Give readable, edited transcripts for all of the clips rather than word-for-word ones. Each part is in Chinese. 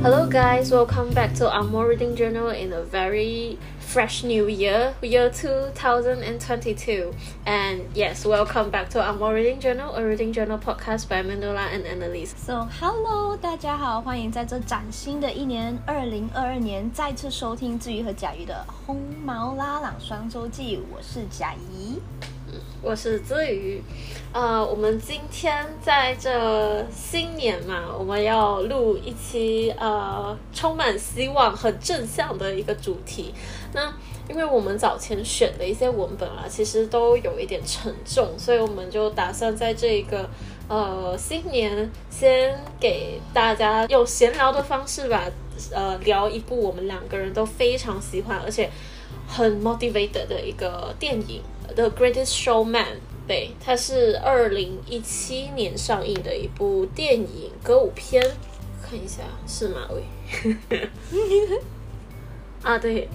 Hello guys, welcome back to Amor Reading Journal in a very fresh new year 2022. And yes, welcome back to Amor Reading Journal, a reading journal podcast by Mandola and Annalise. So hello, 大家好，欢迎在这崭新的一年2022年再次收听志宇和甲鱼的红毛拉朗双周记，我是甲怡。 我是姿瑜。我们今天在这新年嘛，我们要录一期充满希望、很正向的一个主题。那因为我们早前选的一些文本其实都有一点沉重，所以我们就打算在这个新年先给大家用闲聊的方式吧，聊一部我们两个人都非常喜欢而且很 motivated 的一个电影The Greatest Showman。 对，它是2017年上映的一部电影歌舞片，看一下是吗？喂对，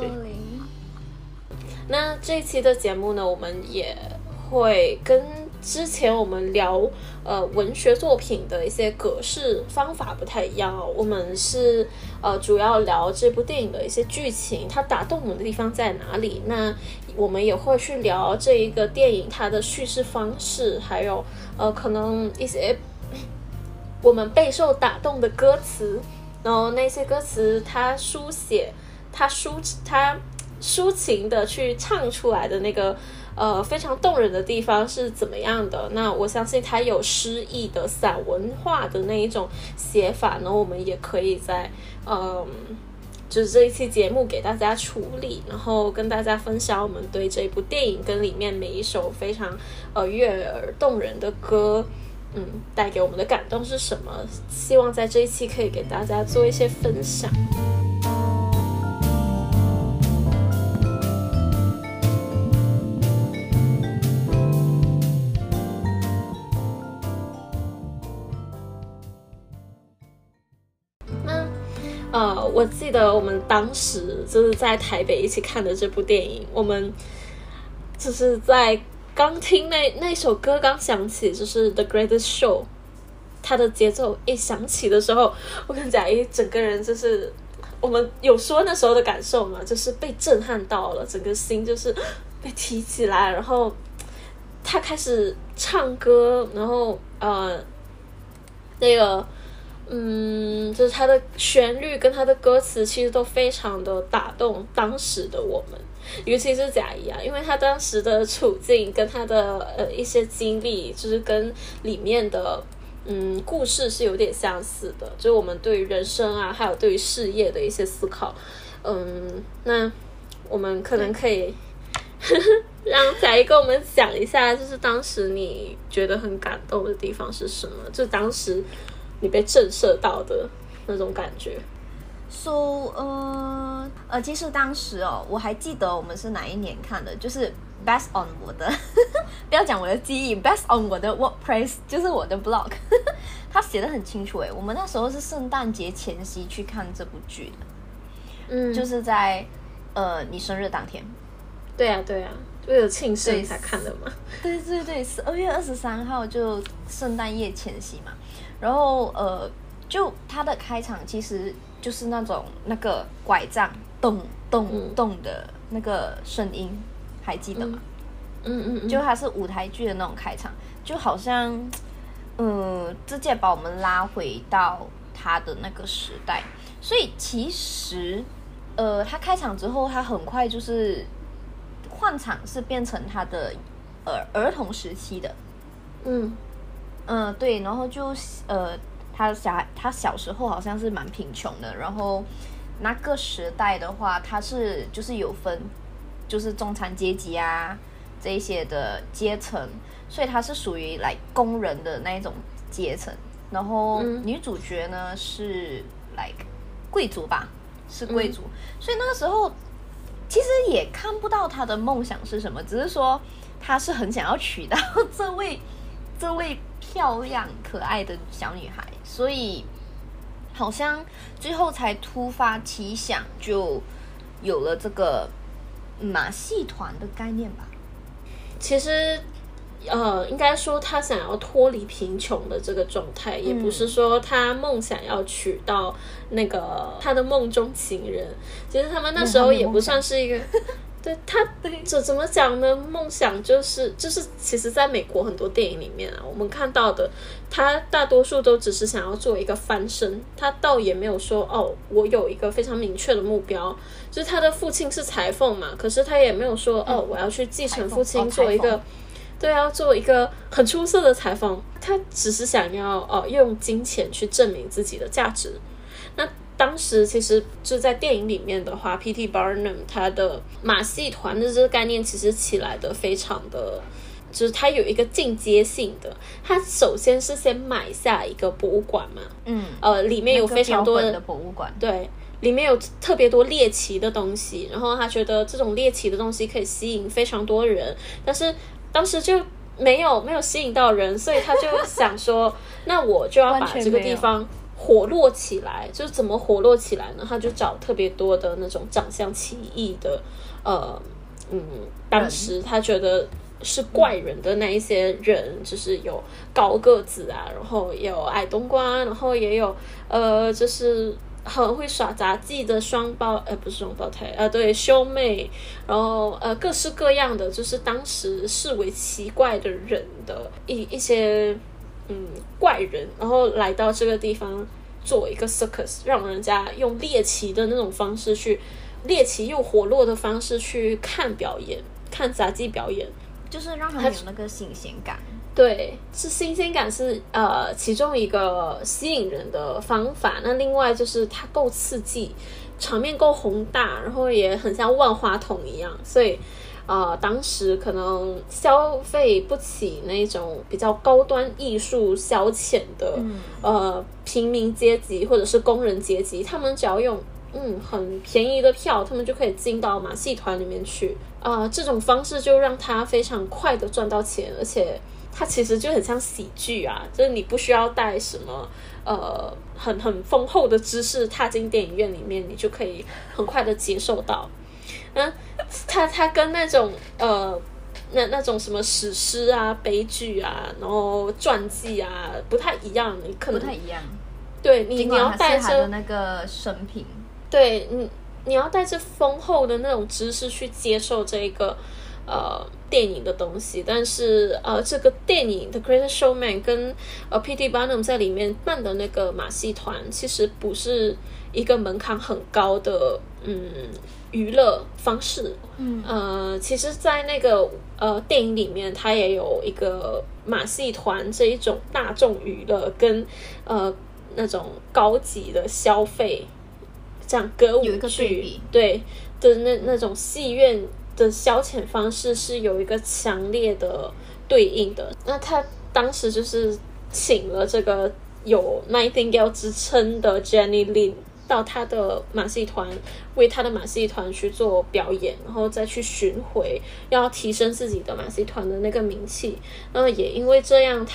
那这一期的节目呢，我们也会跟之前我们聊文学作品的一些格式方法不太一样我们是主要聊这部电影的一些剧情，它打动我们的地方在哪里。那我们也会去聊这一个电影它的叙事方式，还有可能一些我们备受打动的歌词，然后那些歌词它抒写它抒情的去唱出来的那个非常动人的地方是怎么样的。那我相信它有诗意的散文化的那一种写法呢，我们也可以在就是这一期节目给大家处理，然后跟大家分享我们对这部电影跟里面每一首非常悦耳动人的歌带给我们的感动是什么，希望在这一期可以给大家做一些分享。我记得我们当时就是在台北一起看的这部电影，我们就是在刚听那首歌刚响起，就是 The Greatest Show， 它的节奏一响起的时候，我跟贾一整个人就是我们有说那时候的感受嘛，就是被震撼到了，整个心就是被提起来，然后他开始唱歌，然后那个就是它的旋律跟它的歌词其实都非常的打动当时的我们，尤其是贾怡因为他当时的处境跟他的一些经历，就是跟里面的故事是有点相似的，就是我们对于人生还有对于事业的一些思考。那我们可能可以让贾怡跟我们讲一下，就是当时你觉得很感动的地方是什么，就当时你被震慑到的那种感觉。 其实当时我还记得我们是哪一年看的，就是 based on 我的不要讲我的记忆， based on 我的 WordPress， 就是我的 blog 他写得很清楚我们那时候是圣诞节前夕去看这部剧的，就是在你生日当天。 对啊为了庆生才看的嘛。 对，12月23号就圣诞夜前夕嘛。然后就它的开场其实就是那个拐杖咚咚咚的那个声音，还记得吗？就它是舞台剧的那种开场，就好像直接把我们拉回到它的那个时代。所以其实它开场之后，它很快就是换场是变成它的儿童时期的。对，然后就他小时候好像是蛮贫穷的，然后那个时代的话，他是就是有分就是中产阶级这一些的阶层，所以他是属于来工人的那一种阶层。然后女主角呢是贵族吧，是贵族，所以那个时候其实也看不到她的梦想是什么，只是说她是很想要娶到这位漂亮可爱的小女孩，所以好像最后才突发奇想，就有了这个马戏团的概念吧。 其实应该说他想要脱离贫穷的这个状态，也不是说他梦想要娶到那个他的梦中情人。其实他们那时候也不算是一个，对他怎么讲呢？梦想就是其实在美国很多电影里面啊，我们看到的，他大多数都只是想要做一个翻身，他倒也没有说我有一个非常明确的目标。就是他的父亲是裁缝嘛，可是他也没有说我要去继承父亲做一个。对，要做一个很出色的裁缝，他只是想要用金钱去证明自己的价值。那当时其实就在电影里面的话 P.T. Barnum 他的马戏团的这个概念其实起来的非常的，就是它有一个进阶性的。它首先是先买下一个博物馆嘛，里面有非常多的博物馆， 对。里面有特别多猎奇的东西，然后他觉得这种猎奇的东西可以吸引非常多人，但是当时就没有吸引到人，所以他就想说那我就要把这个地方活络起来。就是怎么活络起来呢？他就找特别多的那种长相奇异的当时他觉得是怪人的那一些人，就是有高个子啊，然后也有矮冬瓜，然后也有就是很会耍杂技的不是双胞胎对，兄妹，然后各式各样的，就是当时视为奇怪的人的一些怪人，然后来到这个地方做一个 circus， 让人家用猎奇的那种方式去猎奇又活络的方式去看表演，看杂技表演， 就是让他们有那个新鲜感。 对，是新鲜感是其中一个吸引人的方法。那另外就是它够刺激，场面够宏大，然后也很像万花筒一样，所以当时可能消费不起那种比较高端艺术消遣的平民阶级或者是工人阶级，他们只要用很便宜的票，他们就可以进到马戏团里面去这种方式就让他非常快的赚到钱，而且它其实就很像喜剧啊，就是你不需要带什么很丰厚的知识踏进电影院里面，你就可以很快的接受到。它跟那种那种什么史诗啊、悲剧啊，然后传记啊不太一样，你可能不太一样。 对，你要带着那个生平， 对你要带着丰厚的那种知识去接受这个电影的东西。但是这个电影 The Greatest Showman 跟P.T. Barnum 在里面办的那个马戏团其实不是一个门槛很高的娱乐方式。其实在那个电影里面它也有一个马戏团这一种大众娱乐跟那种高级的消费，这样歌舞剧有一个对比，对的那种戏院的消遣方式是有一个强烈的对应的。那他当时就是请了这个有 Nightingale 之称的 Jenny Lin 到他的马戏团，为他的马戏团去做表演，然后再去巡回，要提升自己的马戏团的那个名气。也因为这样，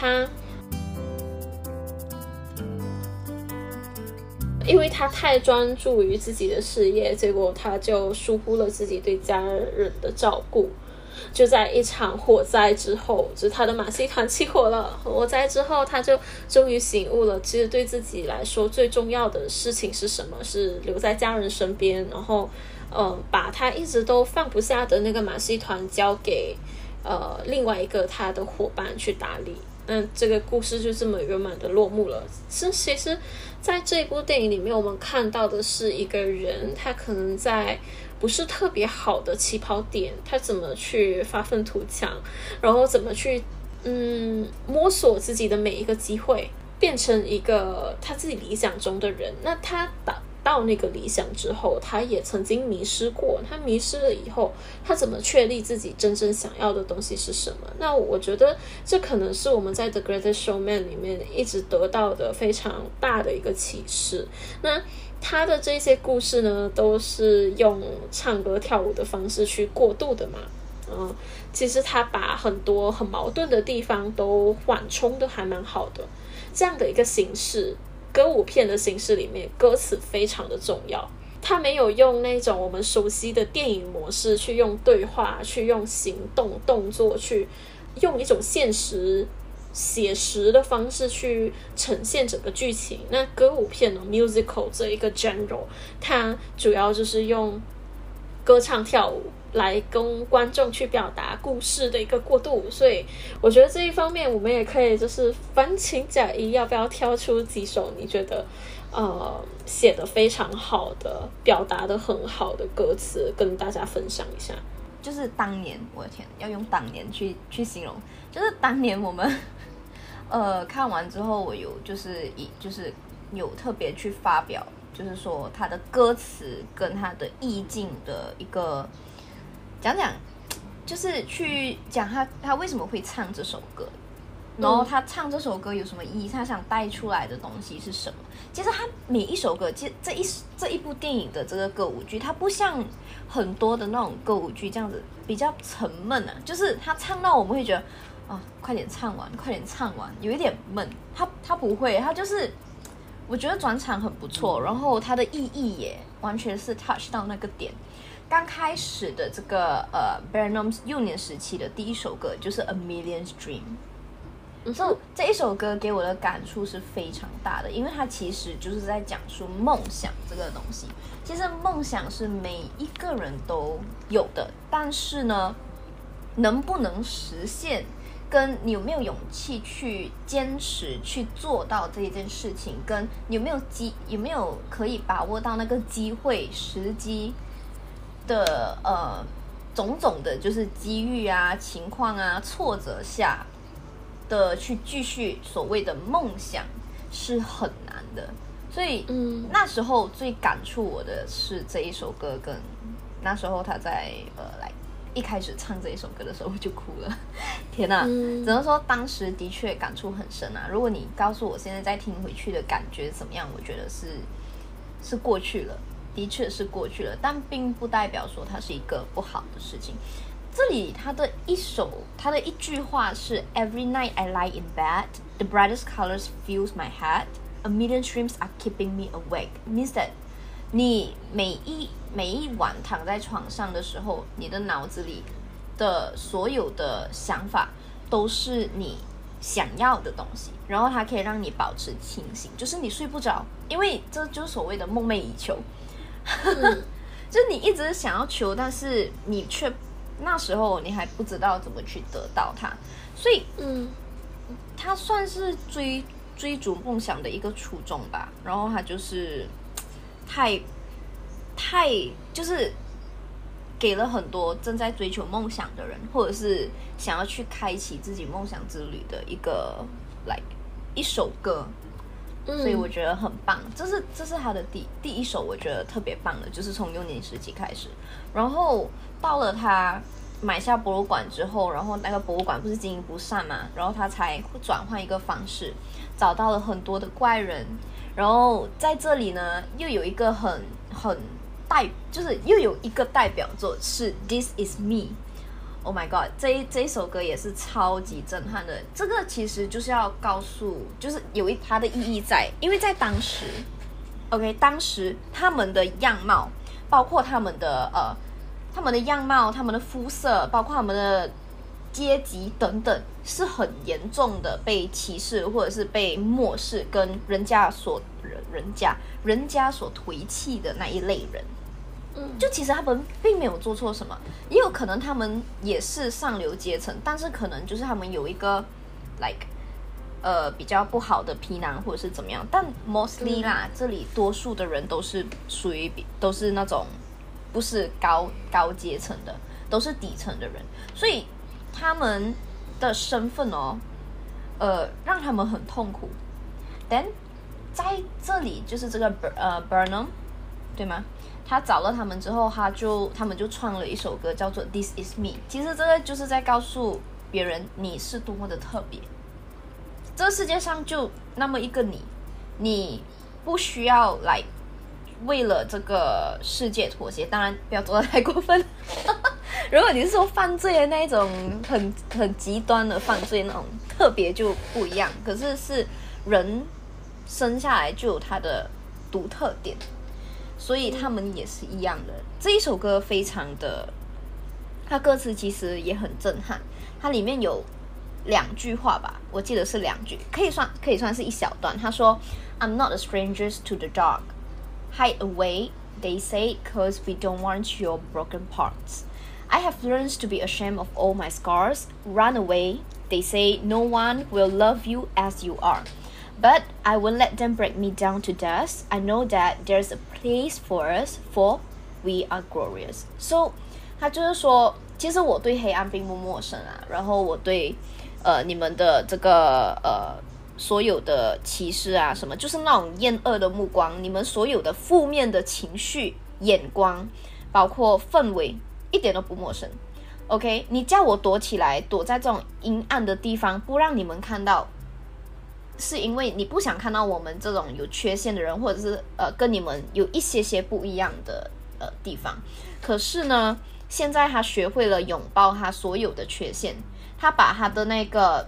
因为他太专注于自己的事业，结果他就疏忽了自己对家人的照顾。就在一场火灾之后，就是他的马戏团起火了，火灾之后他就终于醒悟了，其实对自己来说最重要的事情是什么，是留在家人身边，然后把他一直都放不下的那个马戏团交给另外一个他的伙伴去打理。这个故事就这么圆满的落幕了。其实在这部电影里面，我们看到的是一个人，他可能在不是特别好的起跑点，他怎么去发愤图强，然后怎么去摸索自己的每一个机会，变成一个他自己理想中的人。那他到那个理想之后，他也曾经迷失过，他迷失了以后，他怎么确立自己真正想要的东西是什么？那我觉得这可能是我们在 The Greatest Showman 里面一直得到的非常大的一个启示。那他的这些故事呢，都是用唱歌跳舞的方式去过渡的嘛。其实他把很多很矛盾的地方都缓冲的还蛮好的。这样的一个形式，歌舞片的形式里面，歌词非常的重要。他没有用那种我们熟悉的电影模式去用对话，去用行动动作去用一种现实写实的方式去呈现整个剧情。那歌舞片呢 musical 这一个 genre 它主要就是用歌唱跳舞来跟观众去表达故事的一个过渡，所以我觉得这一方面我们也可以就是反请假一，要不要挑出几首你觉得写得非常好的表达得很好的歌词跟大家分享一下。 就是当年，我的天，要用当年去形容，就是当年我们看完之后，我有就是有特别去发表，就是说他的歌词跟他的意境的一个讲，就是去讲他为什么会唱这首歌，然后他唱这首歌有什么意义，他想带出来的东西是什么。其实他每一首歌，其实这一部电影的这个歌舞剧，它不像很多的那种歌舞剧这样子比较沉闷啊，就是他唱到我们会觉得快点唱完，有一点闷。他不会，他就是我觉得转场很不错，然后它的意义也完全是 touch 到那个点。刚开始的这个Burnham 幼年时期的第一首歌就是 A Million's Dream。这一首歌给我的感触是非常大的，因为它其实就是在讲述梦想这个东西。其实梦想是每一个人都有的，但是呢，能不能实现，跟你有没有勇气去坚持去做到这一件事情，跟有没有可以把握到那个机会时机的种种的，就是机遇啊、情况啊、挫折下的去继续所谓的梦想是很难的。所以那时候最感触我的是这一首歌，跟那时候他在一开始唱这一首歌的时候我就哭了。天哪，只能说当时的确感触很深啊。如果你告诉我现在再听回去的感觉怎么样，我觉得是过去了，的确是过去了，但并不代表说它是一个不好的事情。这里他的一句话是 Every night I lie in bed, the brightest colors fills my head, a million dreams are keeping me awake. Means that 你每一晚躺在床上的时候，你的脑子里的所有的想法都是你想要的东西，然后它可以让你保持清醒，就是你睡不着，因为这就是所谓的梦寐以求。就是你一直想要求，但是你却那时候你还不知道怎么去得到它，所以他算是追逐梦想的一个初衷吧。然后他就是太就是给了很多正在追求梦想的人，或者是想要去开启自己梦想之旅的一首歌。所以我觉得很棒，这是他的第一首，我觉得特别棒的，就是从幼年时期开始，然后到了他买下博物馆之后，然后那个博物馆不是经营不善嘛，然后他才转换一个方式，找到了很多的怪人，然后在这里呢又有一个就是又有一个代表作是 This Is Me。Oh my god， 这一首歌也是超级震撼的。这个其实就是要告诉，就是有它的意义在，因为在当时 ，OK， 当时他们的样貌，包括他们的样貌、他们的肤色，包括他们的阶级等等，是很严重的被歧视或者是被漠视，跟人家所推弃的那一类人。就其实他们并没有做错什么，也有可能他们也是上流阶层，但是可能就是他们有一个比较不好的皮囊或者是怎么样，但 mostly 啦，这里多数的人都是属于都是那种不是高阶层的，都是底层的人，所以他们的身份让他们很痛苦。Then 在这里就是这个Burnham， 对吗？他找了他们之后，他们就创了一首歌叫做 This Is Me。 其实这个就是在告诉别人你是多么的特别，这个世界上就那么一个你不需要为了这个世界妥协，当然不要做得太过分。如果你是说犯罪的那一种很极端的犯罪那种特别就不一样，可是人生下来就有他的独特点，所以他们也是一样的。这一首歌非常的，它歌词其实也很震撼，它里面有 2句话吧，我记得是2句，可以算是一小段。他说 I'm not a stranger to the dark. Hide away, they say, cause we don't want your broken parts. I have learned to be ashamed of all my scars. Run away, they say, no one will love you as you are. But I won't let them break me down to dust. I know that there's a place for us, for we are glorious. So 他就是说，其实我对黑暗并不陌生啊，然后我对你们的这个所有的歧视啊什么，就是那种厌恶的目光，你们所有的负面的情绪眼光，包括氛围，一点都不陌生。 OK， 你叫我躲起来，躲在这种阴暗的地方，不让你们看到，是因为你不想看到我们这种有缺陷的人，或者是跟你们有一些不一样的地方。可是呢，现在他学会了拥抱他所有的缺陷，他把他的那个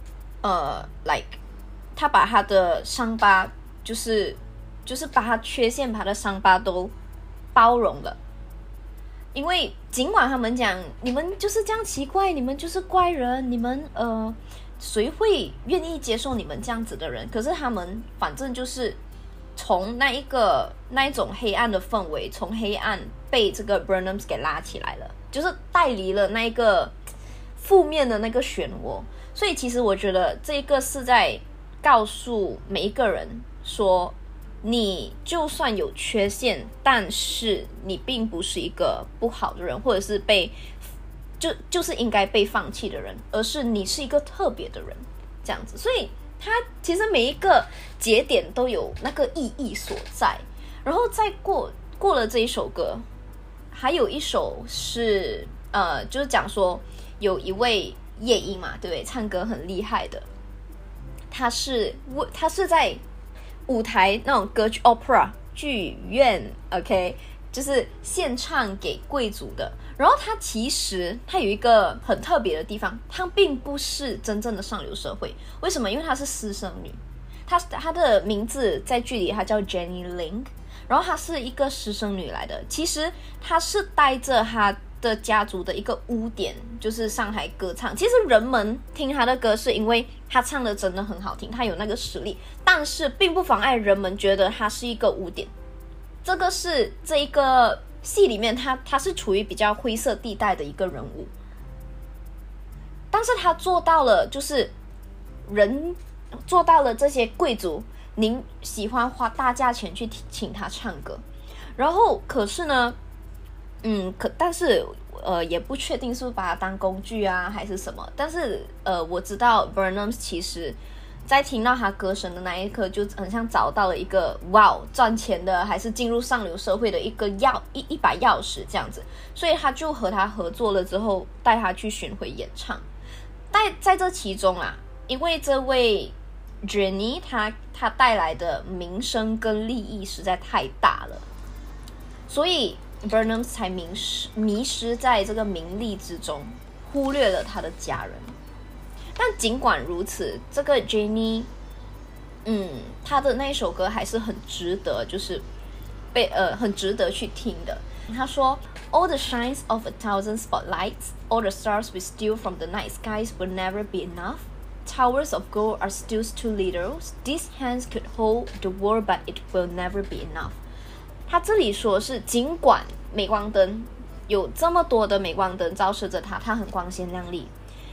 他把他的伤疤，就是把他缺陷，把他的伤疤都包容了。因为尽管他们讲你们就是这样奇怪，你们就是怪人，你们谁会愿意接受你们这样子的人？可是他们反正就是从那一种黑暗的氛围，从黑暗被这个 Burnham 给拉起来了，就是带离了那一个负面的那个漩涡。所以其实我觉得这个是在告诉每一个人说，你就算有缺陷，但是你并不是一个不好的人，或者是就是应该被放弃的人，而是你是一个特别的人，这样子。所以他其实每一个节点都有那个意义所在。然后再过了这一首歌，还有一首是就是讲说有一位夜莺嘛，对不对？唱歌很厉害的，他是在舞台那种歌剧 opera 剧院 OK， 就是献唱给贵族的。然后他其实他有一个很特别的地方，他并不是真正的上流社会。为什么？因为她是私生女，她的名字在剧里她叫 Jenny Link， 然后她是一个私生女来的。其实她是带着她的家族的一个污点，就是上台歌唱。其实人们听她的歌是因为她唱的真的很好听，她有那个实力，但是并不妨碍人们觉得她是一个污点。这个是这一个戏里面她是处于比较灰色地带的一个人物，但是她做到了，就是做到了这些贵族您喜欢花大价钱去请她唱歌。然后可是呢但是也不确定是不是把它当工具啊还是什么。但是我知道 Burnham 其实在听到他歌声的那一刻，就很像找到了一个赚钱的还是进入上流社会的一把钥匙这样子。所以他就和他合作了之后，带他去巡回演唱。在这其中啊，因为这位 Jenny 他带来的名声跟利益实在太大了，所以 Burnham 才迷失在这个名利之中，忽略了他的家人。但尽管如此，这个 Jenny 他的那首歌还是很值得，就是很值得去听的。他说 All the shines of 1,000 spotlights, all the stars we steal from the night skies will never be enough. Towers of gold are still too little. These hands could hold the world, but it will never be enough. 他这里说是尽管镁光灯有这么多的镁光灯照射着他，他很光鲜亮丽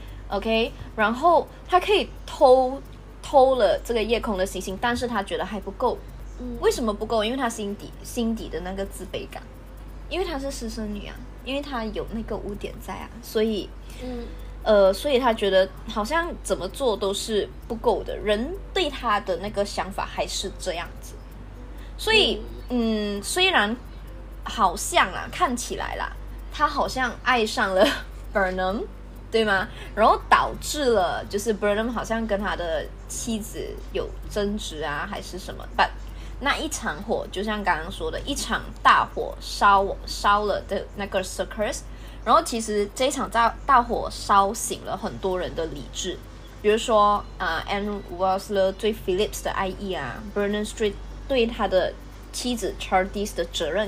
OK， 然后他可以偷了这个夜空的星星，但是他觉得还不够。为什么不够？因为他心底的那个自卑感，因为他是私生女啊，因为他有那个污点在啊，所以所以他觉得好像怎么做都是不够的，人对他的那个想法还是这样子。所以虽然好像看起来啦，他好像爱上了 Burnham， 对吗？然后导致了就是 Burnham 好像跟他的妻子有争执啊还是什么。 But 那一场火就像刚刚说的，一场大火烧了的那个 circus， 然后其实这一场大火烧醒了很多人的理智，比如说Anne Welsler 对 Phillips 的爱意啊， Bernard Street 对他的妻子 Charlize 的责任感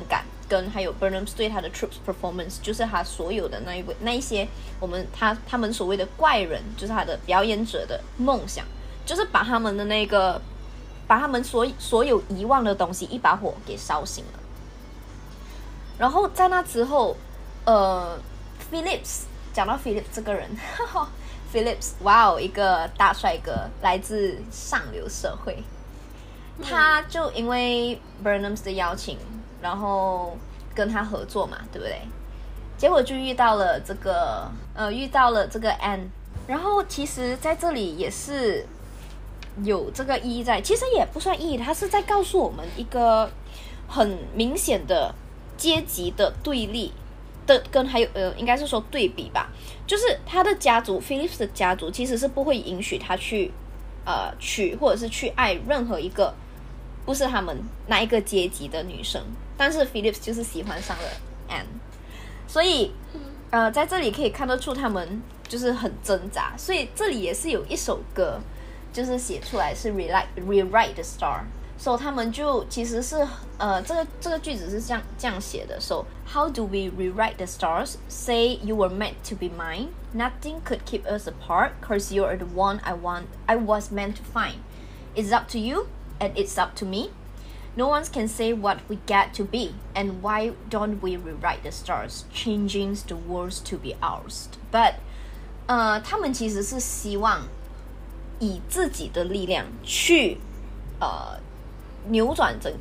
跟还有 Burnham 对他的 troops performance， 就是他所有的那一些他们所谓的怪人，就是他的表演者的梦想，就是把他们的把他们所有遗忘的东西一把火给烧醒了。然后在那之后Phillips， 讲到 Phillips 这个人Phillips， 哇哦，一个大帅哥，来自上流社会。他就因为 Burnham 的邀请，然后跟他合作嘛，对不对？结果就遇到了这个Anne。然后其实在这里也是有这个意义在，其实也不算意义，他是在告诉我们一个很明显的阶级的对立的，跟还有应该是说对比吧，就是他的家族 Phillips 的家族其实是不会允许他去娶或者是去爱任何一个不是他们那一个阶级的女生，但是 Phillips 就是喜欢上了 Anne， 所以在这里可以看得出他们就是很挣扎，所以这里也是有一首歌就是写出来是 rewrite the star。So 他们就其实是这个句子是这样写的。So how do we rewrite the stars? Say you were meant to be mine. Nothing could keep us apart, 'cause you are the one I was meant to find. It's up to you, and it's up to me. No one can say what we get to be, and why don't we rewrite the stars, changing the worlds to be ours? But 他们其实是希望以自己的力量去扭转整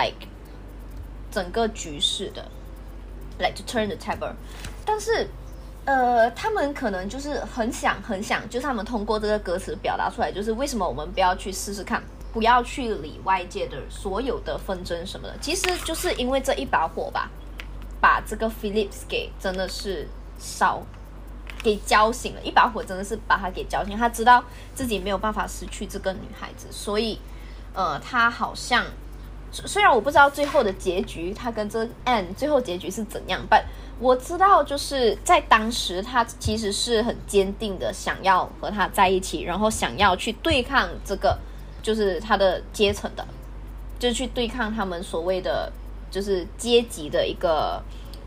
个局势的 ，like to turn the table。但是他们可能就是很想，就是他们通过这个歌词表达出来，就是为什么我们不要去试试看，不要去理外界的所有的纷争什么的。其实就是因为这一把火吧，把这个 Phillips 给真的是给浇醒了，一把火真的是把他给浇醒。他知道自己没有办法失去这个女孩子，所以他好像虽然我不知道最后的结局，他跟这 Anne 最后结局是怎样，但我知道就是在当时他其实是很坚定的想要和他在一起，然后想要去对抗这个就是他的阶层的，就是去对抗他们所谓的就是阶级的一个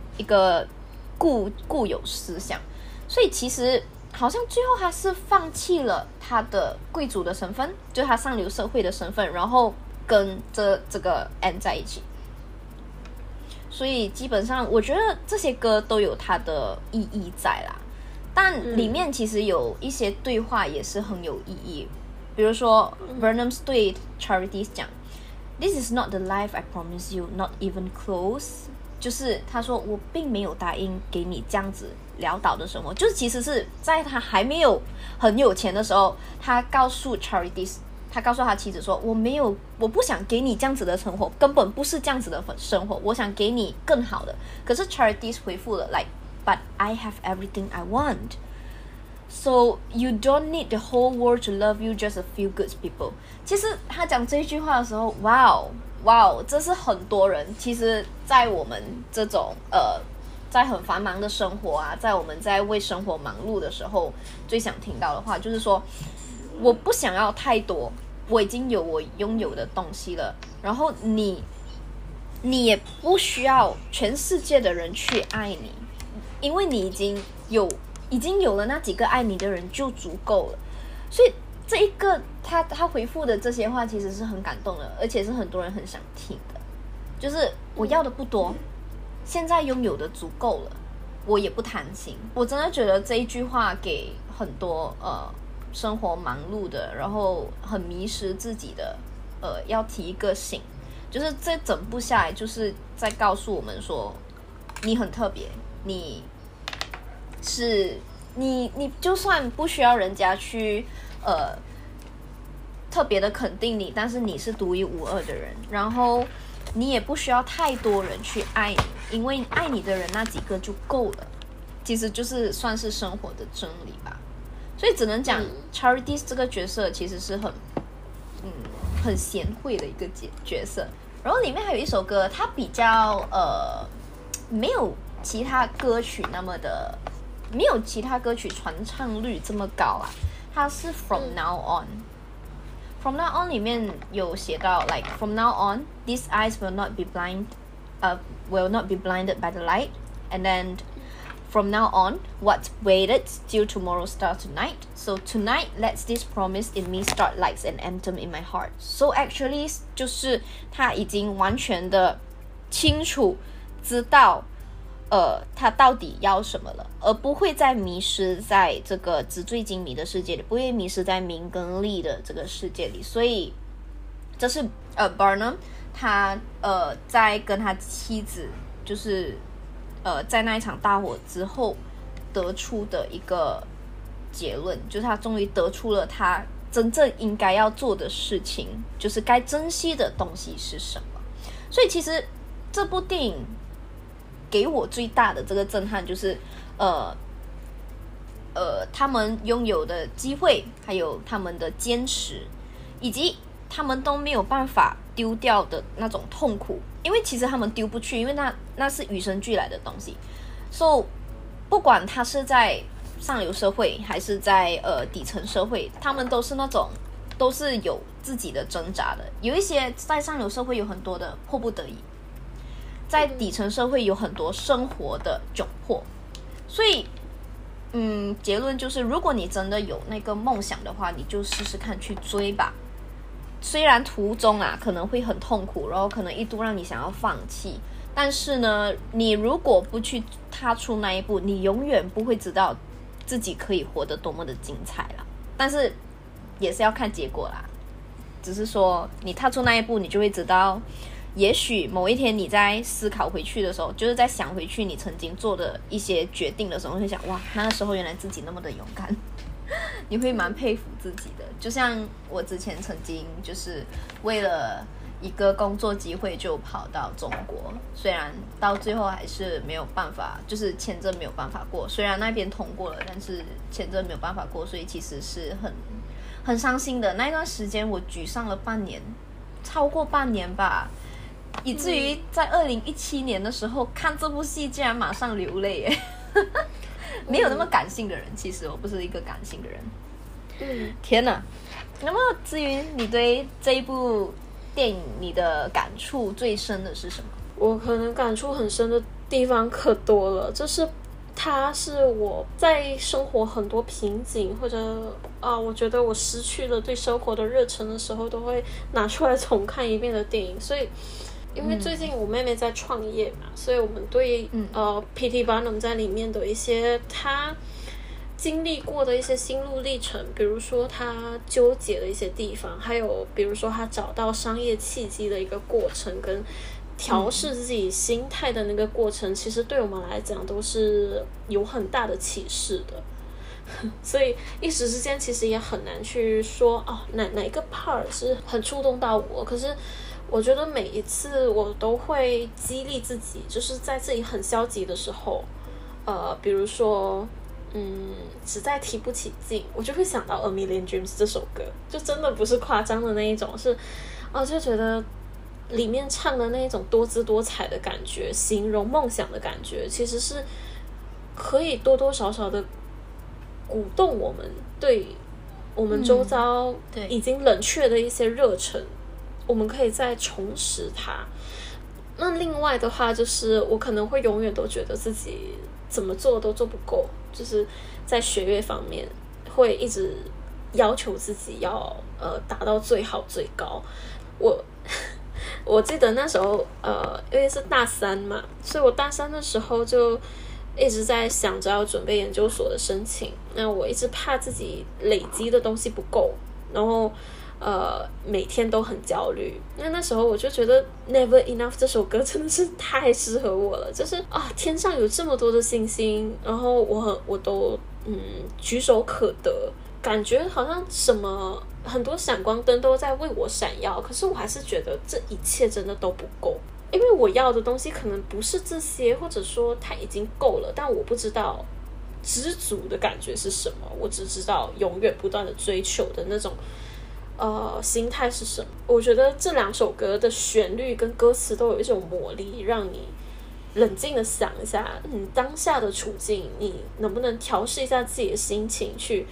固有思想。所以其实好像最后他是放弃了他的贵族的身份，就是他上流社会的身份，然后跟这个 Anne 在一起。所以基本上我觉得这些歌都有它的意义在啦，但里面其实有一些对话也是很有意义。比如说 Burnham 对 Charity 讲 This is not the life I promise you, not even close， 就是他说我并没有答应给你这样子潦倒的生活，就是其实是在他还没有很有钱的时候，他告诉 Charity， 他告诉他妻子说我不想给你这样子的生活，根本不是这样子的生活，我想给你更好的。可是 Charity 回复了 like But I have everything I want, so you don't need the whole world to love you, just a few good people。 其实他讲这句话的时候，哇哦，这是很多人其实在我们这种在很繁忙的生活啊，在我们在为生活忙碌的时候最想听到的话，就是说我不想要太多，我已经有我拥有的东西了，然后你也不需要全世界的人去爱你，因为你已经有了那几个爱你的人就足够了。所以这一个他回复的这些话其实是很感动的，而且是很多人很想听的，就是我要的不多，现在拥有的足够了，我也不贪心。我真的觉得这一句话给很多生活忙碌的，然后很迷失自己的要提一个醒，就是这整部下来就是在告诉我们说你很特别，你就算不需要人家去特别的肯定你，但是你是独一无二的人，然后你也不需要太多人去爱你，因为爱你的人那几个就够了。其实就是算是生活的真理吧。所以只能讲 Charity 这个角色其实是很贤惠的一个角色。然后里面还有一首歌，它比较没有其他歌曲那么的，没有其他歌曲传唱率这么高啊。它是 From Now On。From Now On 里面有写到 like From now on, these eyes will not be blind will not be blinded by the light. And then from now on, what waited till tomorrow starts tonight. So tonight, let this promise in me start like an anthem in my heart. So actually 就是他已经完全的清楚知道他到底要什么了，而不会再迷失在这个纸醉金迷的世界里，不会迷失在名跟利的这个世界里。所以这是Burnham 他在跟他妻子就是在那一场大火之后得出的一个结论，就是他终于得出了他真正应该要做的事情，就是该珍惜的东西是什么。所以其实这部电影给我最大的这个震撼就是他们拥有的机会，还有他们的坚持，以及他们都没有办法丢掉的那种痛苦，因为其实他们丢不去，因为那是与生俱来的东西。So 不管他是在上流社会还是在底层社会，他们都是那种都是有自己的挣扎的。有一些在上流社会有很多的迫不得已，在底层社会有很多生活的窘迫。所以结论就是，如果你真的有那个梦想的话，你就试试看去追吧。虽然途中可能会很痛苦，然后可能一度让你想要放弃，但是呢，你如果不去踏出那一步，你永远不会知道自己可以活得多么的精彩啦。但是也是要看结果啦，只是说你踏出那一步，你就会知道，也许某一天你在思考回去的时候，就是在想回去你曾经做的一些决定的时候，会想哇，那个时候原来自己那么的勇敢。你会蛮佩服自己的。就像我之前曾经就是为了一个工作机会就跑到中国，虽然到最后还是没有办法，就是签证没有办法过，虽然那边通过了，但是签证没有办法过，所以其实是很伤心的。那一段时间我沮丧了半年，超过半年吧，以至于在2017年的时候看这部戏竟然马上流泪耶。没有那么感性的人，其实我不是一个感性的人。天哪！那么至于你对这一部电影你的感触最深的是什么？ 我可能感触很深的地方可多了，就是它是我在生活很多瓶颈或者我觉得我失去了对生活的热忱的时候，都会拿出来重看一遍的电影。所以因为最近我妹妹在创业嘛，所以我们对P.T. Barnum 在里面的一些他经历过的一些心路历程，比如说他纠结的一些地方，还有比如说他找到商业契机的一个过程，跟调试自己心态的那个过程，其实对我们来讲都是有很大的启示的。所以一时之间其实也很难去说哪一个 part 是很触动到我。可是我觉得每一次我都会激励自己，就是在自己很消极的时候，比如说实在提不起劲，我就会想到《A Million Dreams》这首歌，就真的不是夸张的那一种，是就觉得里面唱的那一种多姿多彩的感觉，形容梦想的感觉，其实是可以多多少少的鼓动我们对我们周遭已经冷却的一些热忱，我们可以再重拾它。那另外的话，就是我可能会永远都觉得自己怎么做都做不够，就是在学业方面会一直要求自己要达到最好最高。我记得那时候因为是大3嘛，所以我大3的时候就一直在想着要准备研究所的申请。那我一直怕自己累积的东西不够，然后每天都很焦虑。那时候我就觉得 Never Enough 这首歌真的是太适合我了，就是天上有这么多的星星，然后我都举手可得，感觉好像什么很多闪光灯都在为我闪耀，可是我还是觉得这一切真的都不够，因为我要的东西可能不是这些，或者说它已经够了，但我不知道知足的感觉是什么，我只知道永远不断的追求的那种心态是什么。我觉得这2首歌的旋律跟歌词都有一种魔力，让你冷静的想一下当下的处境，你能不能调试一下自己的心情，去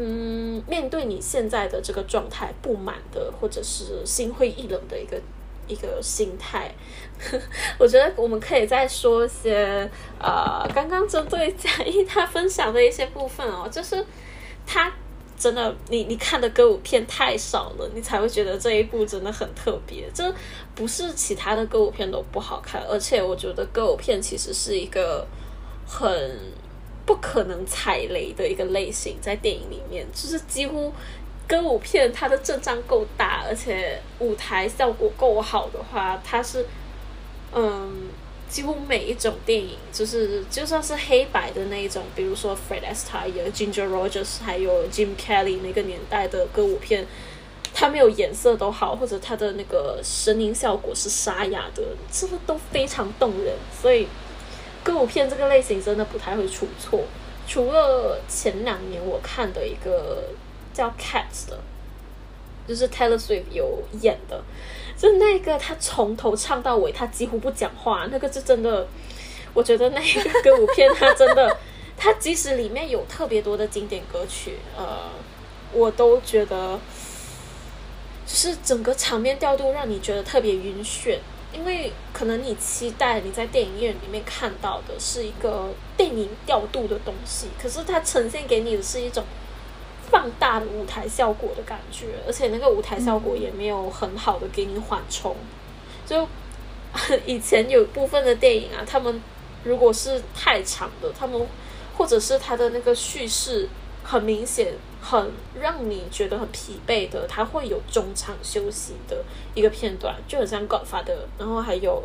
面对你现在的这个状态不满的，或者是心灰意冷的一一个心态。我觉得我们可以再说一些刚刚针对嘉义他分享的一些部分哦，就是他真的你看的歌舞片太少了，你才会觉得这一部真的很特别。这不是其他的歌舞片都不好看，而且我觉得歌舞片其实是一个很不可能踩雷的一个类型，在电影里面就是几乎歌舞片它的阵仗够大，而且舞台效果够好的话，它是几乎每一种电影，就算是黑白的那一种，比如说 Fred Astaire、Ginger Rogers 还有 Jim Kelly 那个年代的歌舞片，它没有颜色都好，或者它的那个声音效果是沙哑的，这个都非常动人。所以歌舞片这个类型真的不太会出错。除了前2年我看的一个叫 Cats 的，就是 Taylor Swift 有演的，就那个他从头唱到尾他几乎不讲话，那个是真的，我觉得那个歌舞片他真的他即使里面有特别多的经典歌曲，我都觉得就是整个场面调度让你觉得特别晕眩。因为可能你期待你在电影院里面看到的是一个电影调度的东西，可是它呈现给你的是一种放大的舞台效果的感觉，而且那个舞台效果也没有很好的给你缓冲。就以前有部分的电影啊，他们如果是太长的，他们或者是他的那个叙事很明显很让你觉得很疲惫的，它会有中场休息的一个片段，就很像 Godfather， 然后还有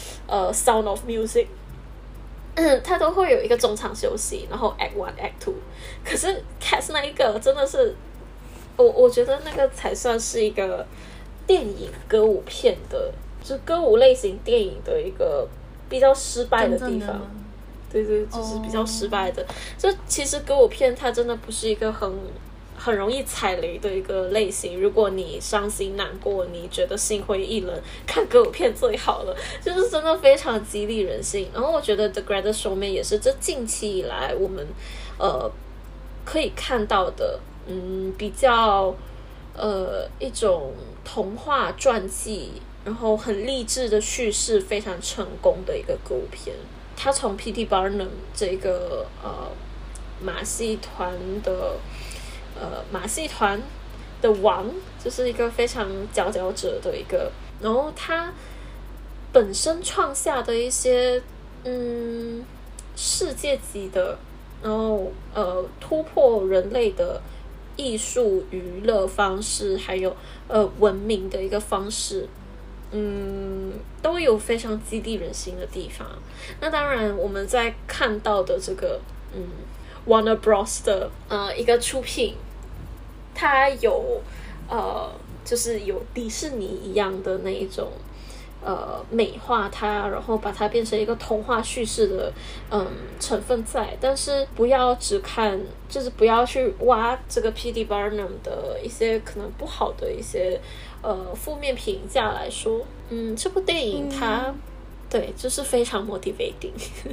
Sound of Music， 它都会有一个中场休息，然后 Act 1 Act 2。 可是 Cats 那一个真的是我觉得那个才算是一个电影歌舞片的，就是歌舞类型电影的一个比较失败的地方。对，就是比较失败的。就其实歌舞片它真的不是一个很容易踩雷的一个类型。如果你伤心难过，你觉得心灰意冷，看歌舞片最好了，就是真的非常激励人心。然后我觉得 The Greatest Showman 也是这近期以来我们可以看到的比较一种童话传记，然后很励志的叙事非常成功的一个歌舞片。他从 P.T. Barnum 这个马戏团的王，就是一个非常佼佼者的一个，然后他本身创下的一些世界级的，然后突破人类的艺术娱乐方式，还有文明的一个方式，都有非常激励人心的地方。那当然我们在看到的这个Warner Bros 的一个出品，它有就是有迪士尼一样的那一种美化它，然后把它变成一个童话叙事的成分在，但是不要只看，就是不要去挖这个 P.T. Barnum 的一些可能不好的一些负面评价来说，这部电影它对就是非常 motivating。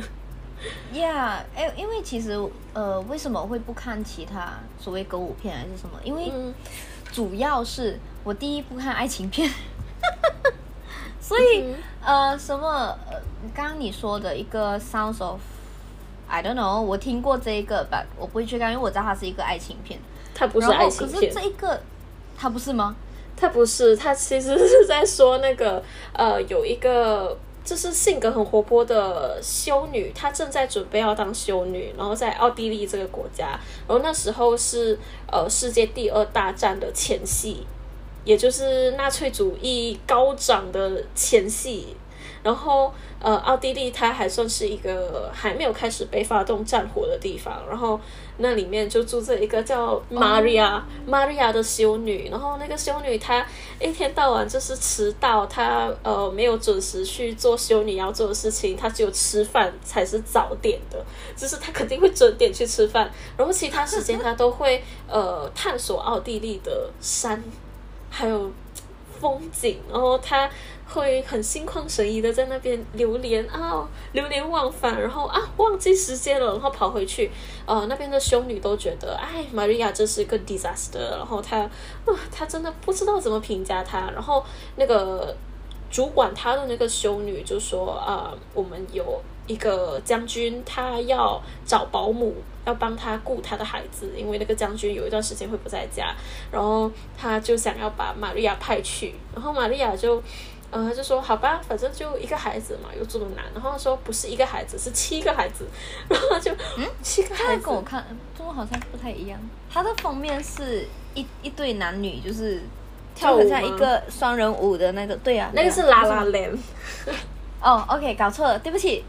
Yeah， 因为其实为什么会不看其他所谓歌舞片还是什么？因为主要是我第一部看爱情片，所以什么刚刚你说的一个 Sounds of I don't know， 我听过这一个 but 我不会去看，因为我知道它是一个爱情片。 它不是爱情片， 可是这一个它不是吗？ 它不是，它其实是在说那个有一个就是性格很活泼的修女，她正在准备要当修女，然后在奥地利这个国家，然后那时候是世界第2大战的前夕，也就是纳粹主义高涨的前夕。然后奥地利它还算是一个还没有开始被发动战火的地方，然后那里面就住着一个叫Maria 的修女，然后那个修女她一天到晚就是迟到，她没有准时去做修女要做的事情，她只有吃饭才是早点的，就是她肯定会准点去吃饭，然后其他时间她都会探索奥地利的山还有风景，然后她会很心旷神怡的在那边流连忘返，然后忘记时间了，然后跑回去，那边的修女都觉得Maria 这是一个 disaster， 然后她真的不知道怎么评价她，然后那个主管他的那个修女就说我们有一个将军，他要找保姆，要帮他顾他的孩子，因为那个将军有一段时间会不在家，然后他就想要把玛利亚派去，然后玛利亚就说好吧，反正就一个孩子嘛，有这么难？然后说不是一个孩子，是7个孩子，然后就7个孩子。 跟我看中国好像不太一样，它的封面是一对男女，就是跳舞吗， 就很像一个双人舞的那个，对啊， 那个是La La Land。 哦 ，OK， 搞错了，对不起。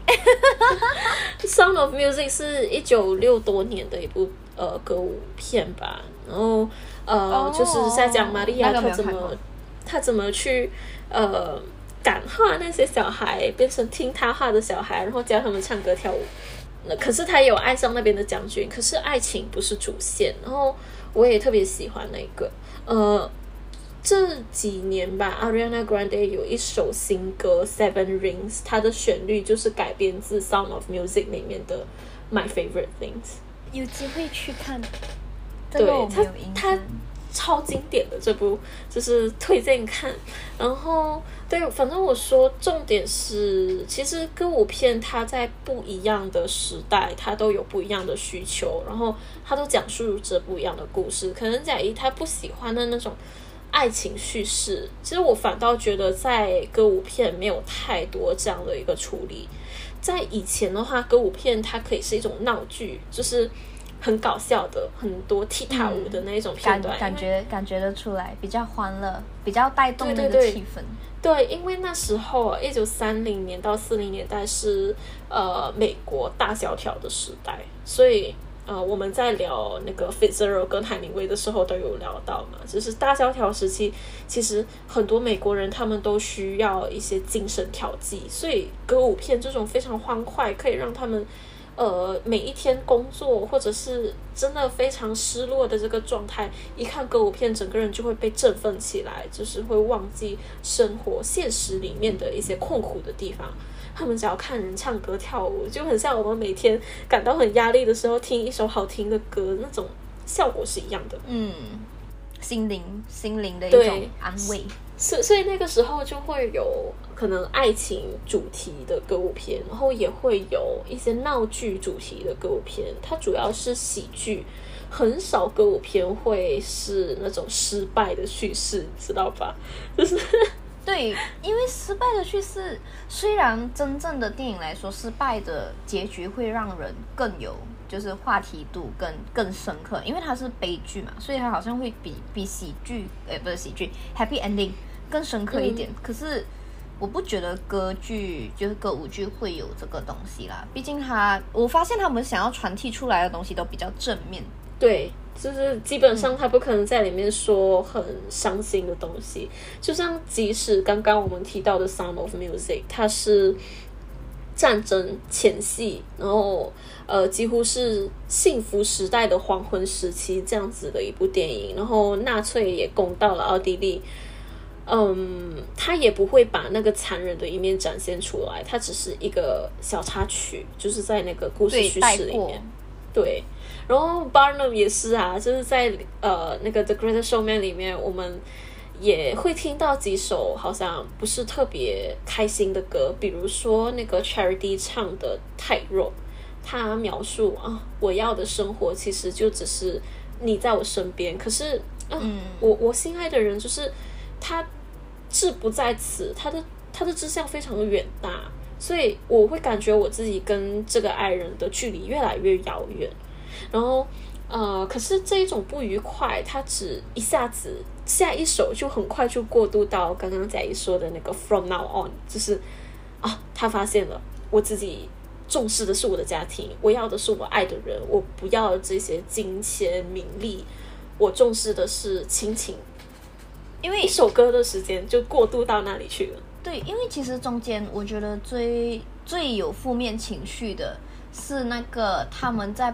Sound of Music 是1960多年的一部歌舞片吧，然后就是在讲玛利亚她怎么去感化那些小孩，变成听她话的小孩，然后教他们唱歌跳舞。可是她有爱上那边的将军，可是爱情不是主线。然后我也特别喜欢那个这几年吧 Ariana Grande 有一首新歌 Seven Rings， 它的旋律就是改编自 Sound of Music 里面的 My Favorite Things。 有机会去看， 对， 它超经典的这部，就是推荐看。然后对，反正我说重点是，其实歌舞片它在不一样的时代，它都有不一样的需求，然后它都讲述着不一样的故事。可能贾一他不喜欢的那种爱情叙事，其实我反倒觉得在歌舞片没有太多这样的一个处理。在以前的话，歌舞片它可以是一种闹剧，就是很搞笑的，很多踢踏舞的那一种片段， 感觉得出来，比较欢乐，比较带动那个气氛。 对，因为那时候1930年到40年代是美国大萧条的时代，所以我们在聊那个 Fitzgerald 跟海明威的时候都有聊到嘛，就是大萧条时期，其实很多美国人他们都需要一些精神调剂，所以歌舞片这种非常欢快，可以让他们每一天工作或者是真的非常失落的这个状态，一看歌舞片整个人就会被振奋起来，就是会忘记生活现实里面的一些困苦的地方。他们只要看人唱歌跳舞，就很像我们每天感到很压力的时候听一首好听的歌，那种效果是一样的。 心灵的一种安慰。 所以那个时候就会有可能爱情主题的歌舞片，然后也会有一些闹剧主题的歌舞片，它主要是喜剧，很少歌舞片会是那种失败的叙事，知道吧？就是对，因为失败的叙事，虽然真正的电影来说，失败的结局会让人更有就是话题度更深刻，因为它是悲剧嘛，所以它好像会比喜剧，不是喜剧 Happy Ending 更深刻一点。可是我不觉得歌剧就是歌舞剧会有这个东西啦，毕竟我发现他们想要传递出来的东西都比较正面。 对，就是基本上他不可能在里面说很伤心的东西，就像即使刚刚我们提到的 Sound of Music， 它是战争前夕，然后几乎是幸福时代的黄昏时期这样子的一部电影，然后纳粹也攻到了奥地利，他也不会把那个残忍的一面展现出来，它只是一个小插曲，就是在那个故事叙事里面。对，然后 Barnum 也是啊，就是在那个 The Greatest Showman 里面，我们也会听到几首好像不是特别开心的歌，比如说那个 Charity 唱的太弱，他描述我要的生活其实就只是你在我身边，可是我心爱的人就是他志不在此，他的志向非常的远大，所以我会感觉我自己跟这个爱人的距离越来越遥远。然后可是这一种不愉快，它只一下子下一首就很快就过渡到刚刚贾怡说的那个 From Now On， 就是他发现了我自己重视的是我的家庭，我要的是我爱的人，我不要这些金钱名利，我重视的是亲情。因为一首歌的时间就过渡到那里去了。 对，因为其实中间我觉得最有负面情绪的是那个他们在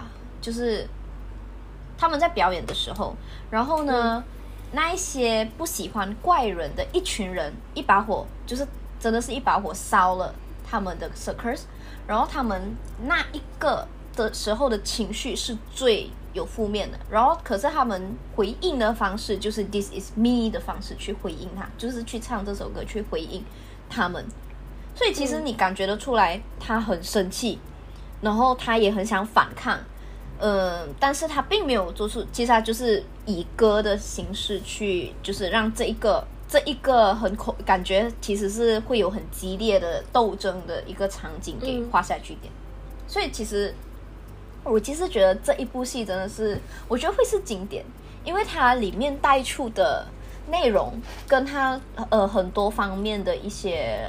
表演的时候，然后呢，那一些不喜欢怪人的一群人，一把火就是真的是一把火烧了他们的 circus， 然后他们那一个的时候的情绪是最有负面的，然后可是他们回应的方式就是 This is me 的方式去回应他，就是去唱这首歌去回应他们。所以其实你感觉得出来他很生气，然后他也很想反抗，但是他并没有做出，其实他就是以歌的形式去，就是让这一个感觉其实是会有很激烈的斗争的一个场景给画下句点。所以其实我其实觉得这一部戏真的是，我觉得会是经典，因为它里面带出的内容跟它很多方面的一些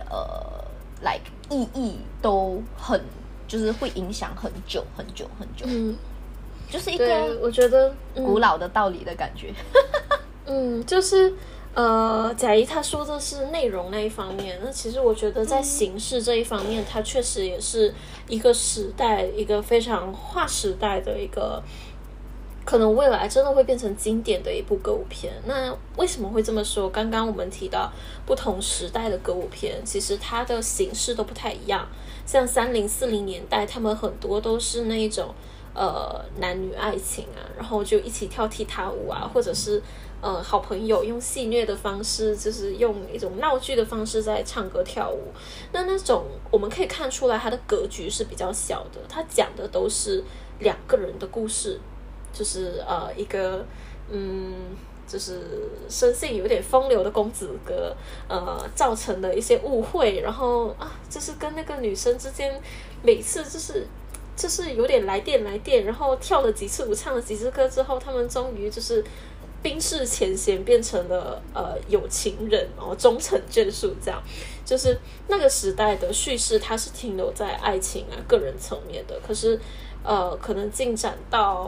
like 意义都很，就是会影响很久很久很久。就是一个我觉得古老的道理的感觉。 就是贾谊他说的是内容那一方面，那其实我觉得在形式这一方面，它确实也是一个时代，一个非常划时代的一个，可能未来真的会变成经典的一部歌舞片。那为什么会这么说？刚刚我们提到不同时代的歌舞片，其实它的形式都不太一样。像30、40年代，他们很多都是那一种男女爱情啊，然后就一起跳踢踏舞啊，或者是好朋友用戏谑的方式，就是用一种闹剧的方式在唱歌跳舞。那种我们可以看出来它的格局是比较小的，它讲的都是两个人的故事，就是一个就是生性有点风流的公子哥造成的一些误会，然后就是跟那个女生之间每次就是有点来电，然后跳了几次舞，唱了几次歌之后，他们终于就是冰释前嫌，变成了有情人，然后终成眷属。这样就是那个时代的叙事，它是停留在爱情啊个人层面的。可是可能进展到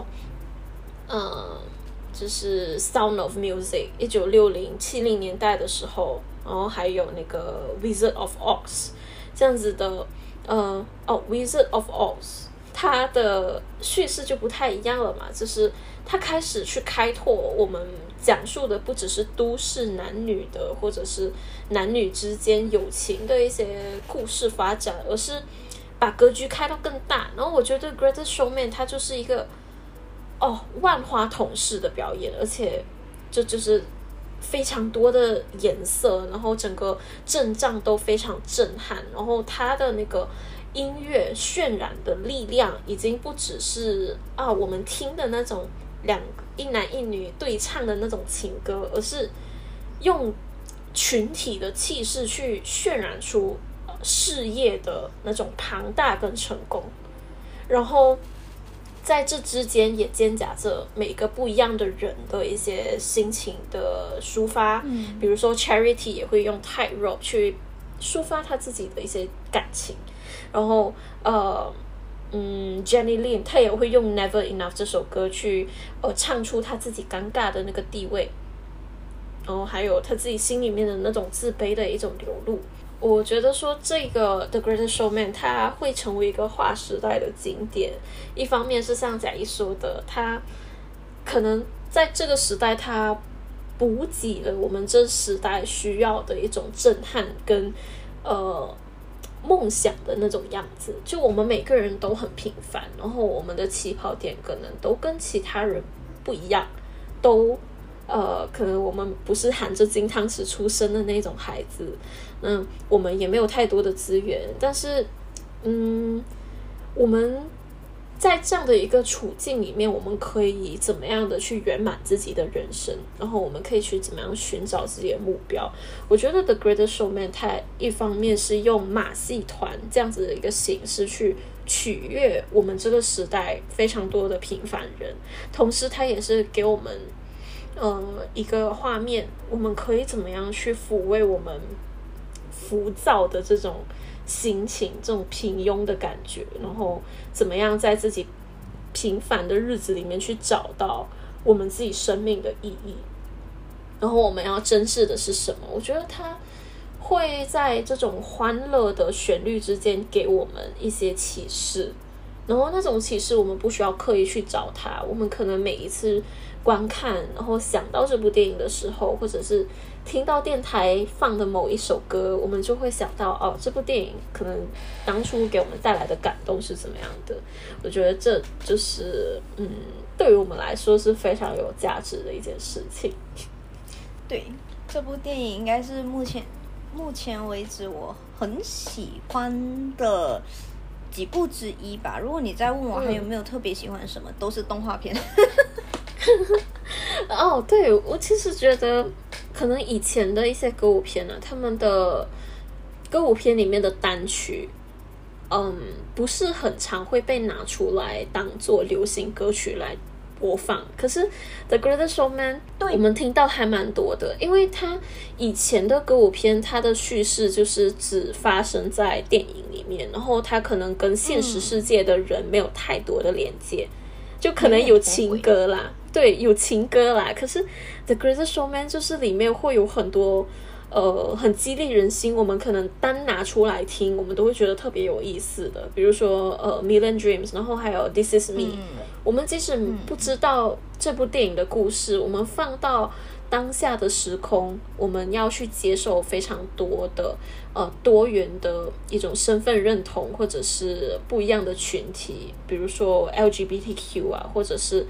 就是 Sound of Music 1960、70年代的时候，然后还有那个 Wizard of Oz 这样子的Wizard of Oz 它的叙事就不太一样了嘛，就是它开始去开拓我们讲述的不只是都市男女的，或者是男女之间友情的一些故事发展，而是把格局开到更大。然后我觉得 Greatest Showman 它就是一个万花筒式的表演，而且就是非常多的颜色，然后整个阵仗都非常震撼，然后它的那个音乐渲染的力量已经不只是我们听的那种一男一女对唱的那种情歌，而是用群体的气势去渲染出事业的那种庞大跟成功，然后在这之间也兼夹着每个不一样的人的一些心情的抒发，比如说 Charity 也会用 Tightrope 去抒发他自己的一些感情，然后Jenny Lin 她也会用 Never Enough 这首歌去唱出她自己尴尬的那个地位，然后还有她自己心里面的那种自卑的一种流露。我觉得说这个 The Greatest Showman 它会成为一个划时代的经典，一方面是像贾谊说的，它可能在这个时代它补给了我们这时代需要的一种震撼跟梦想的那种样子，就我们每个人都很平凡，然后我们的起跑点可能都跟其他人不一样，都可能我们不是含着金汤匙出生的那种孩子，我们也没有太多的资源，但是我们在这样的一个处境里面，我们可以怎么样的去圆满自己的人生，然后我们可以去怎么样寻找自己的目标。我觉得 The Greatest Showman 它一方面是用马戏团这样子的一个形式去取悦我们这个时代非常多的平凡人，同时它也是给我们一个画面，我们可以怎么样去抚慰我们浮躁的这种心情，这种平庸的感觉，然后怎么样在自己平凡的日子里面去找到我们自己生命的意义，然后我们要珍视的是什么。我觉得它会在这种欢乐的旋律之间给我们一些启示，然后那种启示我们不需要刻意去找它，我们可能每一次观看，然后想到这部电影的时候，或者是听到电台放的某一首歌，我们就会想到哦，这部电影可能当初给我们带来的感动是怎么样的。我觉得这就是对于我们来说是非常有价值的一件事情。 对，这部电影应该是目前为止我很喜欢的几部之一吧。如果你再问我还有没有特别喜欢什么，都是动画片。 哦，对，我其实觉得可能以前的一些歌舞片他们的歌舞片里面的单曲不是很常会被拿出来当做流行歌曲来播放，可是 The Greatest Showman 我们听到还蛮多的，因为它以前的歌舞片它的叙事就是只发生在电影里面，然后它可能跟现实世界的人没有太多的连接，就可能有情歌啦，对，有情歌啦，可是 The Greatest Showman 就是里面会有很多很激励人心，我们可能单拿出来听我们都会觉得特别有意思的，比如说Million Dreams， 然后还有 This Is Me，我们即使不知道这部电影的故事，我们放到当下的时空，我们要去接受非常多的多元的一种身份认同，或者是不一样的群体，比如说 LGBTQ 啊，或者是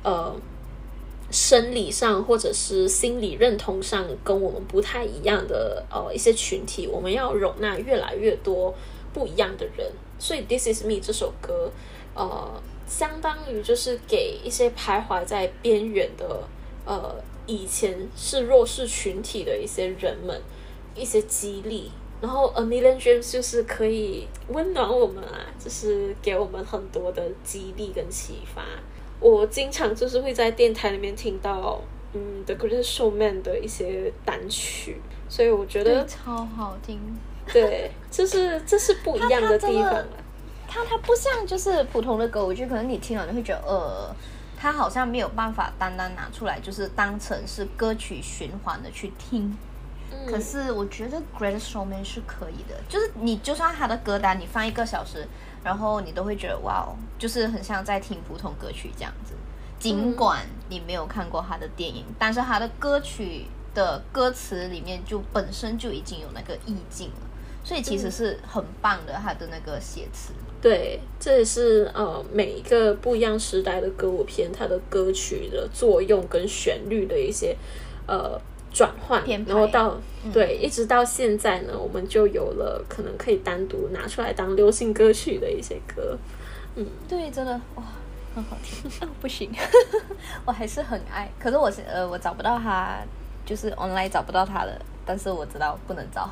生理上或者是心理认同上跟我们不太一样的一些群体，我们要容纳越来越多不一样的人。所以 This Is Me 这首歌相当于就是给一些徘徊在边缘的以前是弱势群体的一些人们一些激励，然后 A Million Dreams 就是可以温暖我们就是给我们很多的激励跟启发。我经常就是会在电台里面听到The Greatest Showman 的一些单曲，所以我觉得超好听。 对，这是不一样的地方它不像就是普通的歌舞剧，可能你听了你会觉得它好像没有办法单单拿出来就是当成是歌曲循环的去听。可是我觉得 Greatest Showman 是可以的，就是你就算它的歌单你放1个小时，然后你都会觉得哇，就是很像在听普通歌曲这样子。尽管你没有看过他的电影，但是他的歌曲的歌词里面就本身就已经有那个意境了，所以其实是很棒的他的那个写词。 对，这也是每一个不一样时代的歌舞片它的歌曲的作用跟旋律的一些转换，然后到对一直到现在呢，我们就有了可能可以单独拿出来当流行歌曲的一些歌。 对，真的哇，很好听不行我还是很爱，可是我找不到它，就是 online 找不到它的，但是我知道不能找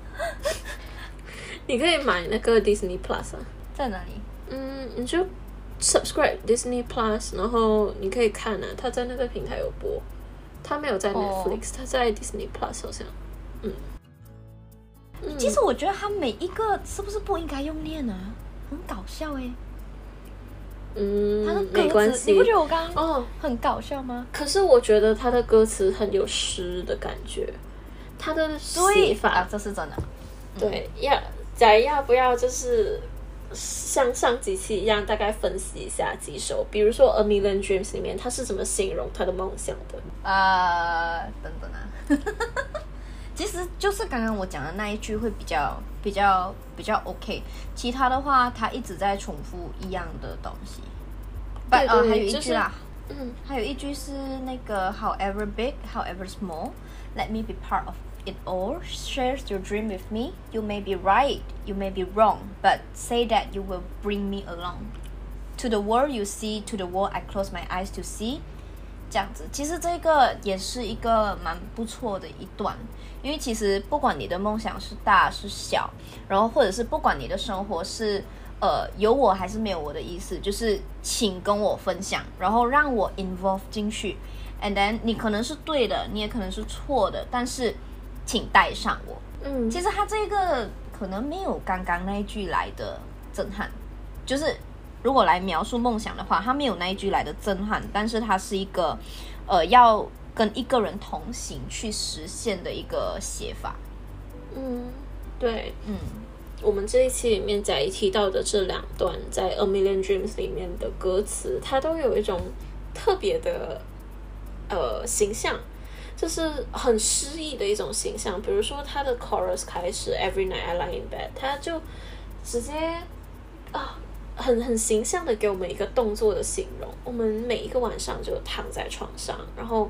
你可以买那个 Disney Plus 在哪里？ 你就 subscribe Disney Plus， 然后你可以看它在那个平台有播，它没有在 Netflix，它在 Disney Plus 好像。 其实我觉得它每一个是不是不应该用念很搞笑他的歌词没关系， 你不觉得我刚刚很搞笑吗？ 可是我觉得他的歌词很有诗的感觉，他的写法这是真的。 对，要不要就是像上几期一样，大概分析一下几首，比如说 A Million Dreams 里面他是怎么形容他的梦想的？ 等等其实就是刚刚我讲的那一句会比较 OK， 其他的话他一直在重复一样的东西。 对对还有一句啦， 就是还有一句是那个 However big, however small, let me be part of it all. Share your dream with me. You may be right, you may be wrong, but say that you will bring me along. To the world you see, to the world I close my eyes to see. 这样子，其实这个也是一个蛮不错的一段，因为其实不管你的梦想是大是小，然后或者是不管你的生活是有我还是没有我的意思，就是请跟我分享，然后让我 involve 进去 ，and then 你可能是对的，你也可能是错的，但是请带上我。其实他这个可能没有刚刚那一句来的震撼，就是如果来描述梦想的话，他没有那一句来的震撼，但是他是一个要跟一个人同行去实现的一个写法。 对，我们这一期里面假一提到的这2段在 A Million Dreams 里面的歌词，它都有一种特别的形象，就是很诗意的一种形象。比如说他的 chorus 开始 Every night I lie in bed， 他就直接很形象的给我们一个动作的形容。我们每一个晚上就躺在床上，然后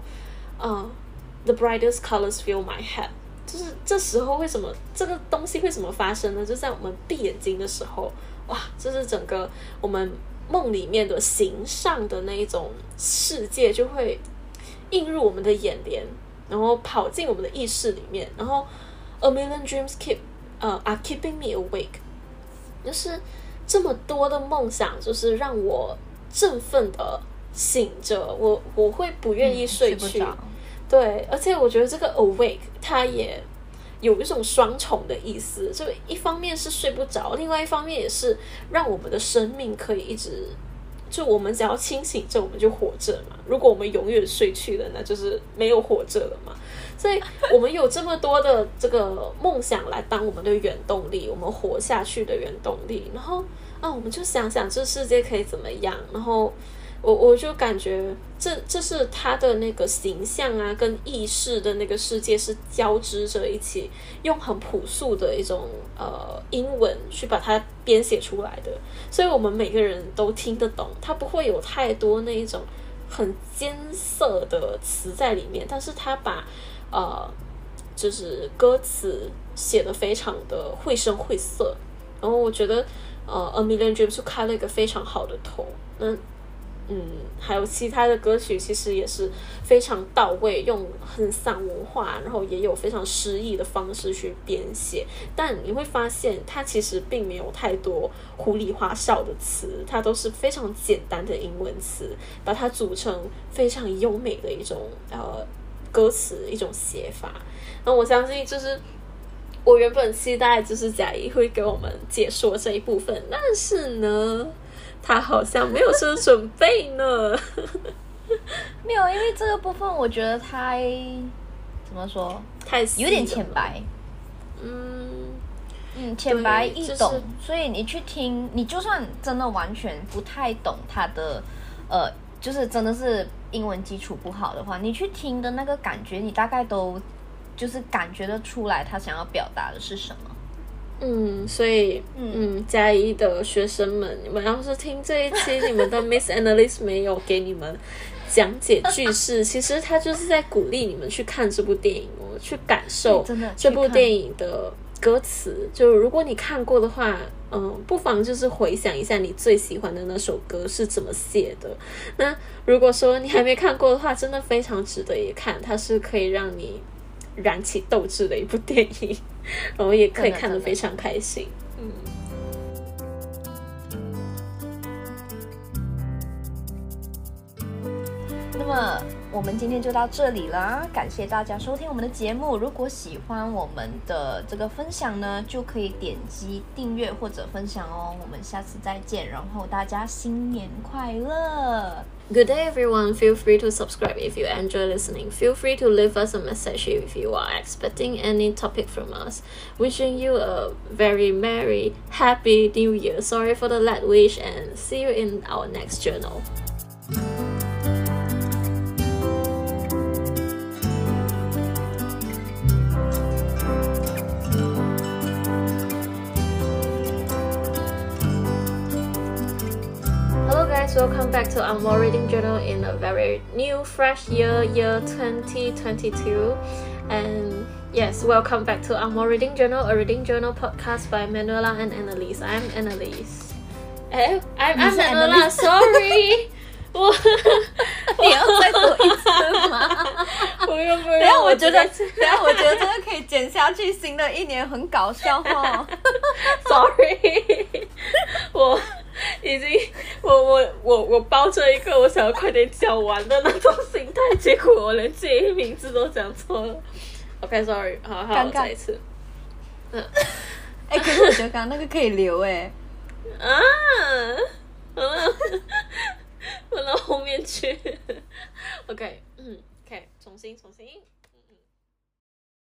The brightest colors fill my head， 就是这时候为什么这个东西为什么发生呢？就在我们闭眼睛的时候，哇，就是整个我们梦里面的形上的那一种世界就会映入我们的眼帘，然后跑进我们的意识里面，然后 A million dreams are keeping me awake， 就是这么多的梦想，就是让我振奋的醒着，我会不愿意睡去， 睡不着。 对，而且我觉得这个 awake 它也有一种双重的意思，就一方面是睡不着，另外一方面也是让我们的生命可以一直，就我们只要清醒着我们就活着嘛，如果我们永远睡去了，那就是没有活着了嘛。所以我们有这么多的这个梦想来当我们的原动力，我们活下去的原动力，然后我们就想想这世界可以怎么样，然后我就感觉这是他的那个形象啊，跟意识的那个世界是交织着一起，用很朴素的一种英文去把它编写出来的，所以我们每个人都听得懂，它不会有太多那一种很艰涩的词在里面，但是他把就是歌词写得非常的绘声绘色，然后我觉得A Million Dreams 就开了一个非常好的头。那还有其他的歌曲其实也是非常到位，用很散文化，然后也有非常诗意的方式去编写，但你会发现它其实并没有太多胡里花哨的词，它都是非常简单的英文词，把它组成非常优美的一种歌词，一种写法。那我相信就是我原本期待就是贾怡会给我们解说这一部分，但是呢他好像没有什么准备呢。 没有，因为这个部分我觉得太怎么说， 太有点浅白。浅白易懂， 就是所以你去听，你就算真的完全不太懂他的就是真的是英文基础不好的话，你去听的那个感觉，你大概都就是感觉得出来他想要表达的是什么。 所以嘉义的学生们，你们要是听这一期你们的 Miss Annalise 没有给你们讲解句式，其实他就是在鼓励你们去看这部电影哦，去感受这部电影的歌词。就如果你看过的话，不妨就是回想一下你最喜欢的那首歌是怎么写的。那如果说你还没看过的话，真的非常值得一看，它是可以让你燃起斗志的一部电影，然后也可以看得非常开心。 那么我们今天就到这里啦，感谢大家收听我们的节目。如果喜欢我们的这个分享呢，就可以点击订阅或者分享哦。我们下次再见，然后大家新年快乐。 Good day, everyone. Feel free to subscribe if you enjoy listening. Feel free to leave us a message if you are expecting any topic from us. Wishing you a very merry, happy New Year. Sorry for the late wish, and see you in our next journal. Welcome back to Angmo Reading Journal in a very new, fresh year 2022. And yes, welcome back to Angmo Reading Journal, a reading journal podcast by Manuela and Annalise. I'm Annalise. I'm Manuela, sorry. 你要再说一次吗？ 不用。 等下我觉得这个可以剪下去，新的一年很搞笑哦。 Sorry， 我已经我抱着一个我想要快点讲完的那种心态，结果我连自己名字都讲错了。OK，sorry， 好，再一次。 可是我觉得刚刚那个可以留问到后面去。OK， 重新。